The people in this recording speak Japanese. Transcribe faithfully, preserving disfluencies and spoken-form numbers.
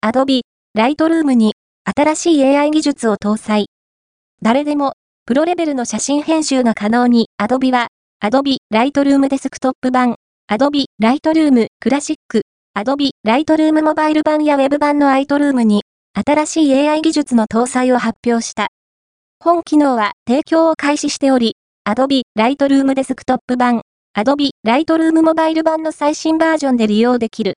Adobe Lightroom に新しい エーアイ 技術を搭載。誰でもプロレベルの写真編集が可能に Adobe は Adobe Lightroom デスクトップ版、Adobe Lightroom Classic、Adobe Lightroom モバイル版や Web 版の Lightroom に新しい エーアイ 技術の搭載を発表した。本機能は提供を開始しており、Adobe Lightroom デスクトップ版、Adobe Lightroom モバイル版の最新バージョンで利用できる。